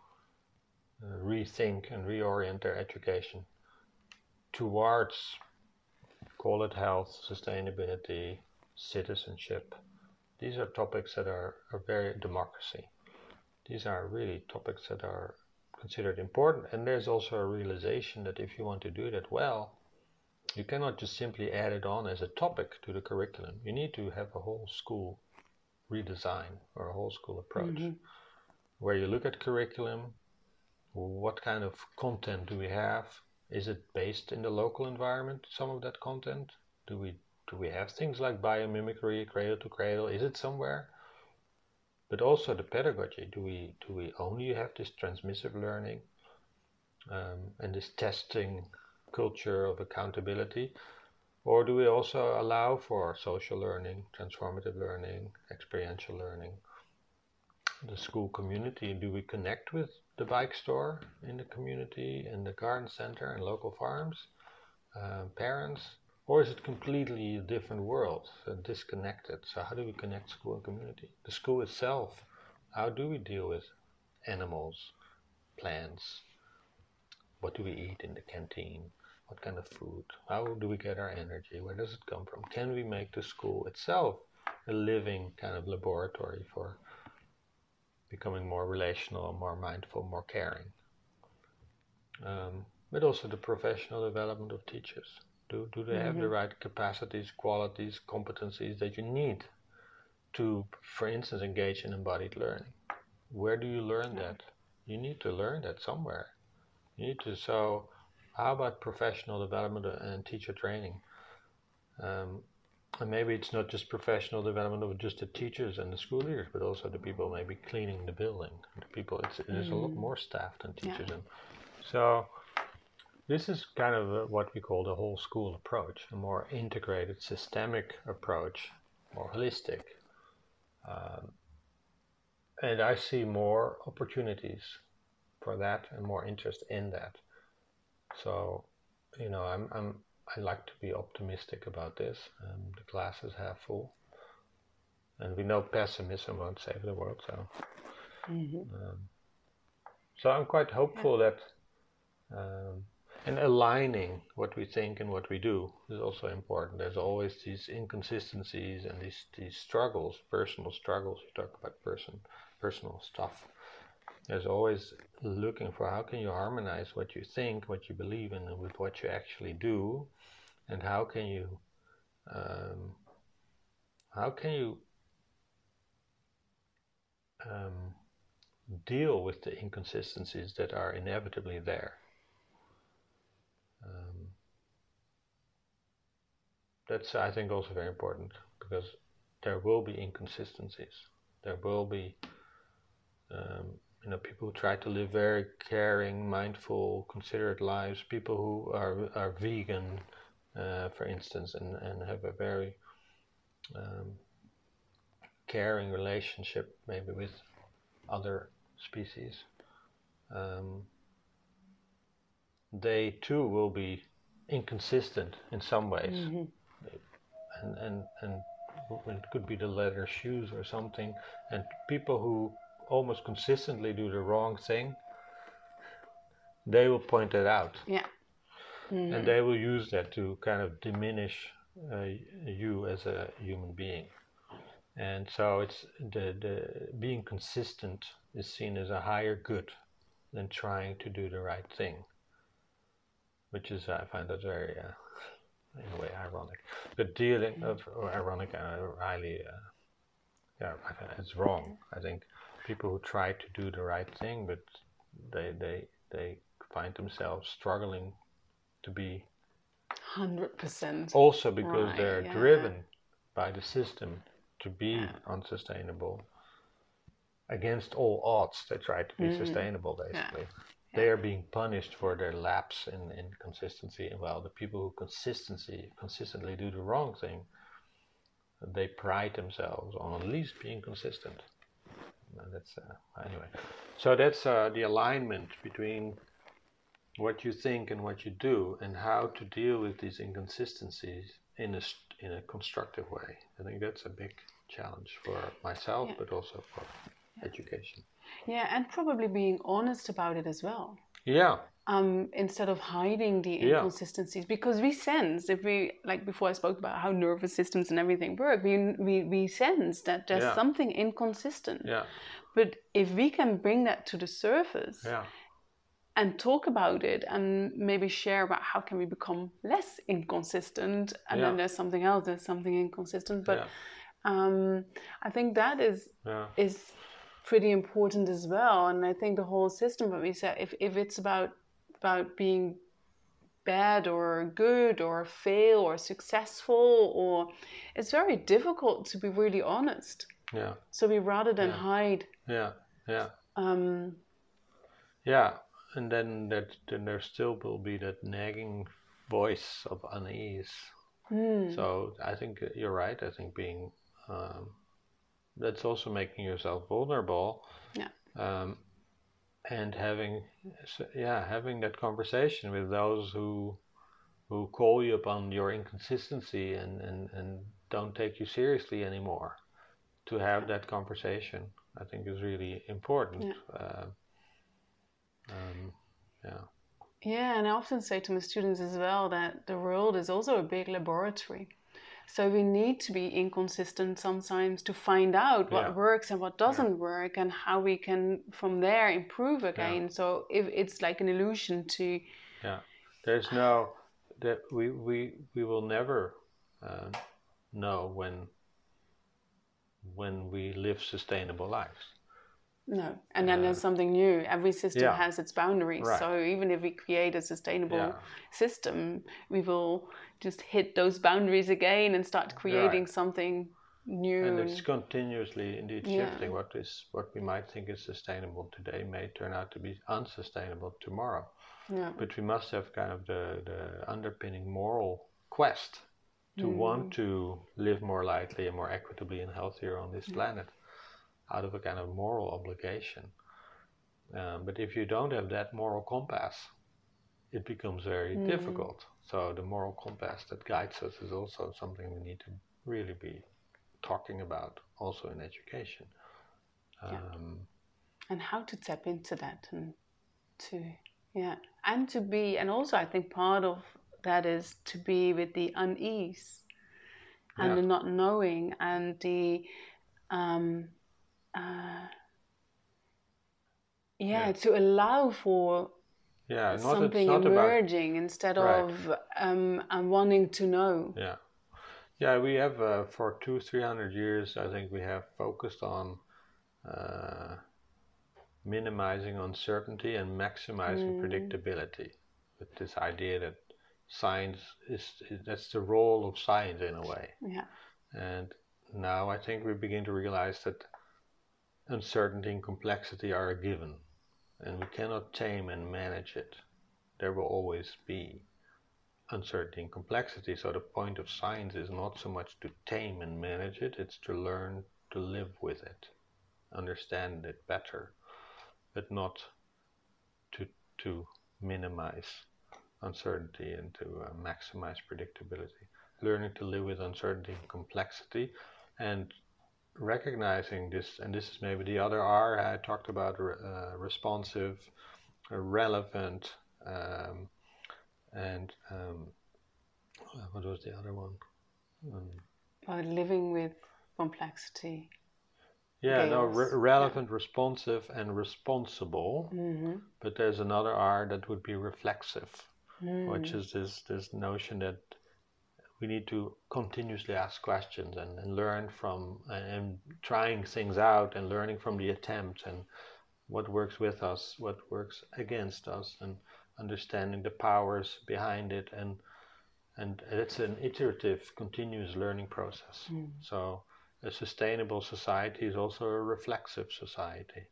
Speaker 1: uh, rethink and reorient their education towards, call it health, sustainability, citizenship. These are topics that are, are very democracy. These are really topics that are considered important. And there's also a realization that if you want to do that well, you cannot just simply add it on as a topic to the curriculum. You need to have a whole school redesign or a whole school approach mm-hmm. where you look at curriculum, what kind of content do we have? Is it based in the local environment, some of that content? Do we do we have things like biomimicry, cradle to cradle? Is it somewhere? But also the pedagogy. Do we do we only have this transmissive learning um, and this testing culture of accountability? Or do we also allow for social learning, transformative learning, experiential learning? The school community, do we connect with the bike store in the community and the garden center and local farms, uh, parents? Or is it completely a different world, uh, disconnected? So how do we connect school and community? The school itself, how do we deal with animals, plants? What do we eat in the canteen? What kind of food? How do we get our energy? Where does it come from? Can we make the school itself a living kind of laboratory for becoming more relational, more mindful, more caring? Um, but also the professional development of teachers. Do, do they mm-hmm. have the right capacities, qualities, competencies that you need to, for instance, engage in embodied learning? Where do you learn yeah. that? You need to learn that somewhere. You need to, so how about professional development and teacher training? Um, and maybe it's not just professional development of just the teachers and the school leaders, but also the people maybe cleaning the building. The people, it's, it is mm. a lot more staff than teachers. Yeah. And so this is kind of what we call the whole school approach, a more integrated, systemic approach, more holistic. Um, and I see more opportunities for that and more interest in that. So, you know, I'm, I'm, I like to be optimistic about this. Um, the glass is half full. And we know pessimism won't save the world, so. Mm-hmm. Um, so I'm quite hopeful yeah. that, um, and aligning what we think and what we do is also important. There's always these inconsistencies and these, these struggles, personal struggles. You talk about person, personal stuff. There's always looking for how can you harmonize what you think, what you believe in, with what you actually do, and how can you, um, how can you um, deal with the inconsistencies that are inevitably there. Um, that's, I think, also very important, because there will be inconsistencies. There will be um, you know, people who try to live very caring, mindful, considerate lives, people who are are vegan, uh, for instance, and, and have a very um, caring relationship maybe with other species. Um, they too will be inconsistent in some ways. Mm-hmm. And, and, and it could be the leather shoes or something. And people who almost consistently do the wrong thing, they will point it out.
Speaker 2: Yeah. Mm-hmm.
Speaker 1: And they will use that to kind of diminish uh, you as a human being. And so it's the, the being consistent is seen as a higher good than trying to do the right thing, which is, I find that very, uh, in a way, ironic. But dealing of, or ironic, uh, highly, uh, yeah, I think it's wrong. I think people who try to do the right thing, but they they they find themselves struggling to be
Speaker 2: one hundred percent
Speaker 1: also because
Speaker 2: right,
Speaker 1: they're
Speaker 2: yeah.
Speaker 1: driven by the system to be
Speaker 2: yeah.
Speaker 1: unsustainable. Against all odds, they try to be mm-hmm. sustainable, basically. Yeah. They yeah. are being punished for their lapse in, in consistency. Well, the people who consistency consistently do the wrong thing, they pride themselves on at least being consistent. no, that's uh, anyway. So that's uh, the alignment between what you think and what you do, and how to deal with these inconsistencies in a in a constructive way. I think that's a big challenge for myself, yeah. but also for yeah. education.
Speaker 2: Yeah, and probably being honest about it as well.
Speaker 1: Yeah.
Speaker 2: Um, instead of hiding the inconsistencies, yeah. because we sense, if we, like before I spoke about how nervous systems and everything work, we we, we sense that there's yeah. something inconsistent.
Speaker 1: Yeah.
Speaker 2: But if we can bring that to the surface
Speaker 1: yeah.
Speaker 2: and talk about it and maybe share about how can we become less inconsistent, and yeah. then there's something else, there's something inconsistent. But yeah. um, I think that is
Speaker 1: yeah.
Speaker 2: is pretty important as well. And I think the whole system, what we said, if, if it's about about being bad or good or fail or successful, or it's very difficult to be really honest.
Speaker 1: Yeah.
Speaker 2: So we rather than
Speaker 1: yeah.
Speaker 2: hide.
Speaker 1: Yeah. Yeah.
Speaker 2: Um,
Speaker 1: yeah. And then that then there still will be that nagging voice of unease.
Speaker 2: Mm.
Speaker 1: So I think you're right. I think being um, that's also making yourself vulnerable.
Speaker 2: Yeah.
Speaker 1: Um, and having, yeah, having that conversation with those who who call you upon your inconsistency and, and, and don't take you seriously anymore. To have that conversation, I think, is really important.
Speaker 2: Yeah.
Speaker 1: Uh, um, yeah.
Speaker 2: Yeah, and I often say to my students as well that the world is also a big laboratory. So we need to be inconsistent sometimes to find out what
Speaker 1: yeah.
Speaker 2: works and what doesn't
Speaker 1: yeah.
Speaker 2: work, and how we can from there improve again.
Speaker 1: Yeah.
Speaker 2: So if it's like an illusion to
Speaker 1: yeah, there's no that we we we will never uh, know when when we live sustainable lives.
Speaker 2: No, and then uh, there's something new. Every system
Speaker 1: yeah.
Speaker 2: has its boundaries.
Speaker 1: Right.
Speaker 2: So even if we create a sustainable
Speaker 1: yeah.
Speaker 2: system, we will just hit those boundaries again and start creating
Speaker 1: right.
Speaker 2: something new.
Speaker 1: And it's continuously indeed shifting.
Speaker 2: Yeah.
Speaker 1: What is what we might think is sustainable today may turn out to be unsustainable tomorrow.
Speaker 2: Yeah.
Speaker 1: But we must have kind of the, the underpinning moral quest to mm. want to live more lightly and more equitably and healthier on this yeah. planet, out of a kind of moral obligation. Um, but if you don't have that moral compass, it becomes very mm. difficult. So the moral compass that guides us is also something we need to really be talking about, also in education. Um,
Speaker 2: yeah. And how to tap into that, and to, yeah, and to be, and also I think part of that is to be with the unease and yeah. the not knowing and the, um, Uh, yeah, yeah, to allow for
Speaker 1: yeah, not,
Speaker 2: something
Speaker 1: not
Speaker 2: emerging
Speaker 1: about,
Speaker 2: instead
Speaker 1: right.
Speaker 2: of um, and wanting to know.
Speaker 1: Yeah, yeah. We have uh, for two, three hundred years, I think we have focused on uh, minimizing uncertainty and maximizing mm. predictability. With this idea that science is, is that's the role of science in a way.
Speaker 2: Yeah.
Speaker 1: And now I think we begin to realize that uncertainty and complexity are a given, and we cannot tame and manage it. There will always be uncertainty and complexity, so the point of science is not so much to tame and manage it, it's to learn to live with it, understand it better, but not to, to minimize uncertainty and to uh, maximize predictability. Learning to live with uncertainty and complexity, and recognizing this, and this is maybe the other R I talked about, uh, responsive, uh, relevant, um, and um, what was the other one? Um,
Speaker 2: uh, living with complexity.
Speaker 1: Yeah, no, re relevant, yeah. responsive, and responsible.
Speaker 2: Mm-hmm.
Speaker 1: But there's another R that would be reflexive,
Speaker 2: mm.
Speaker 1: which is this this notion that we need to continuously ask questions and, and learn from and, and trying things out and learning from the attempts and what works with us, what works against us, and understanding the powers behind it. And and it's an iterative, continuous learning process.
Speaker 2: Mm.
Speaker 1: So a sustainable society is also a reflexive society,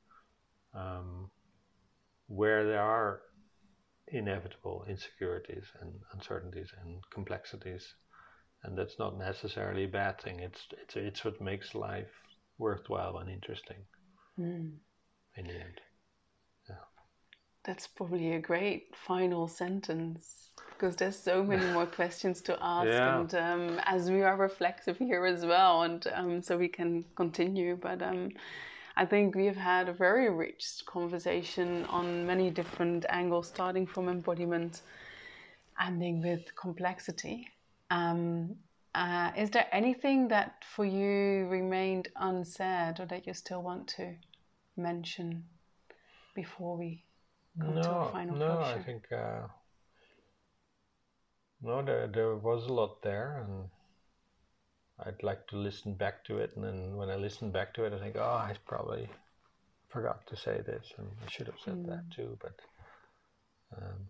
Speaker 1: um, where there are inevitable insecurities and uncertainties and complexities. And that's not necessarily a bad thing. It's it's it's what makes life worthwhile and interesting.
Speaker 2: mm.
Speaker 1: in the end. Yeah.
Speaker 2: That's probably a great final sentence, because there's so many more questions to ask,
Speaker 1: Yeah.
Speaker 2: and um, as we are reflective here as well, and um, so we can continue. But um, I think we've had a very rich conversation on many different angles, starting from embodiment, ending with complexity. Um, uh, is there anything that for you remained unsaid, or that you still want to mention before we come
Speaker 1: no,
Speaker 2: to a final
Speaker 1: no,
Speaker 2: closure?
Speaker 1: I think uh, no, there there was a lot there, and I'd like to listen back to it. And then when I listen back to it, I think, oh, I probably forgot to say this, and I should have said
Speaker 2: Mm.
Speaker 1: that too. But um,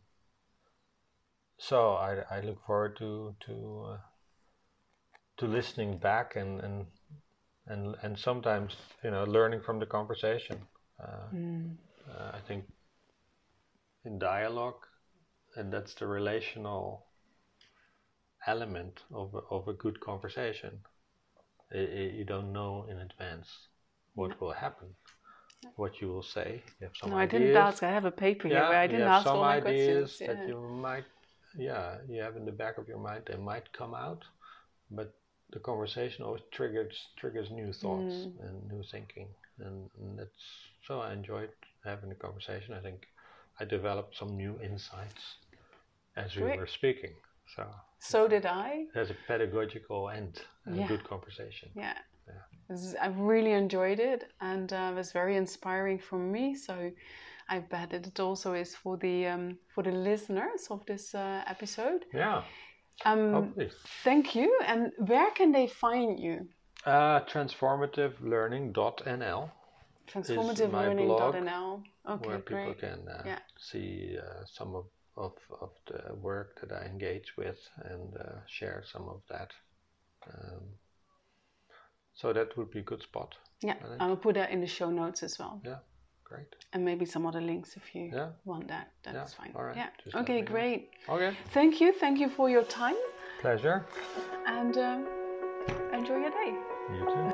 Speaker 1: so I I look forward to to uh, to listening back and and and and sometimes, you know, learning from the conversation. Uh,
Speaker 2: Mm.
Speaker 1: uh, I think in dialogue, and that's the relational element of a, of a good conversation. I, I, you don't know in advance what
Speaker 2: No.
Speaker 1: will happen, what you will say. You have some
Speaker 2: No, I
Speaker 1: ideas.
Speaker 2: didn't ask. I have a paper here
Speaker 1: Yeah,
Speaker 2: where I
Speaker 1: you
Speaker 2: didn't
Speaker 1: have
Speaker 2: ask
Speaker 1: some
Speaker 2: all my
Speaker 1: ideas
Speaker 2: questions.
Speaker 1: that
Speaker 2: Yeah.
Speaker 1: you might, yeah, you have in the back of your mind. They might come out, but the conversation always triggers triggers new thoughts
Speaker 2: Mm.
Speaker 1: and new thinking, and, and that's so I enjoyed having the conversation. I think I developed some new insights as we
Speaker 2: Great.
Speaker 1: were speaking. So
Speaker 2: So did I.
Speaker 1: there's a pedagogical end and
Speaker 2: Yeah.
Speaker 1: a good conversation.
Speaker 2: Yeah.
Speaker 1: Yeah.
Speaker 2: This is- I've really enjoyed it, and uh, it was very inspiring for me. So I bet that it also is for the um, for the listeners of this uh, episode.
Speaker 1: Yeah.
Speaker 2: Um,
Speaker 1: Hopefully.
Speaker 2: Thank you. And where can they find you?
Speaker 1: Uh, transformative learning dot n l
Speaker 2: transformative
Speaker 1: my
Speaker 2: learning dot n l.
Speaker 1: blog,
Speaker 2: Okay,
Speaker 1: where people
Speaker 2: great.
Speaker 1: can uh,
Speaker 2: Yeah.
Speaker 1: see uh, some of, of, of the work that I engage with and uh, share some of that. Um, so that would be a good spot.
Speaker 2: Yeah,
Speaker 1: I think.
Speaker 2: I will put that in the show notes as well.
Speaker 1: Yeah, great.
Speaker 2: And maybe some other links if you
Speaker 1: Yeah.
Speaker 2: want that. That's
Speaker 1: Yeah,
Speaker 2: fine.
Speaker 1: all right.
Speaker 2: Yeah.
Speaker 1: Just let
Speaker 2: Okay,
Speaker 1: me know.
Speaker 2: great.
Speaker 1: Okay.
Speaker 2: Thank you. Thank you for your time.
Speaker 1: Pleasure.
Speaker 2: And um, enjoy your day.
Speaker 1: You too.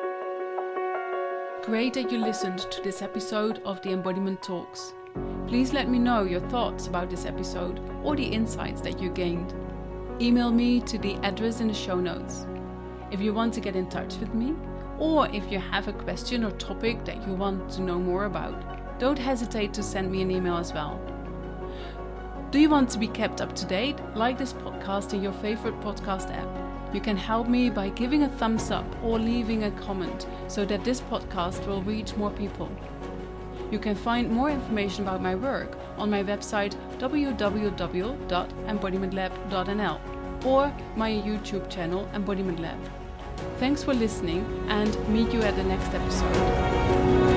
Speaker 2: Great that you listened to this episode of the Embodiment Talks. Please let me know your thoughts about this episode or the insights that you gained. Email me to the address in the show notes. If you want to get in touch with me, or if you have a question or topic that you want to know more about, don't hesitate to send me an email as well. Do you want to be kept up to date? Like this podcast in your favorite podcast app. You can help me by giving a thumbs up or leaving a comment so that this podcast will reach more people. You can find more information about my work on my website w w w dot embodiment lab dot n l or my YouTube channel Embodiment Lab. Thanks for listening, and meet you at the next episode.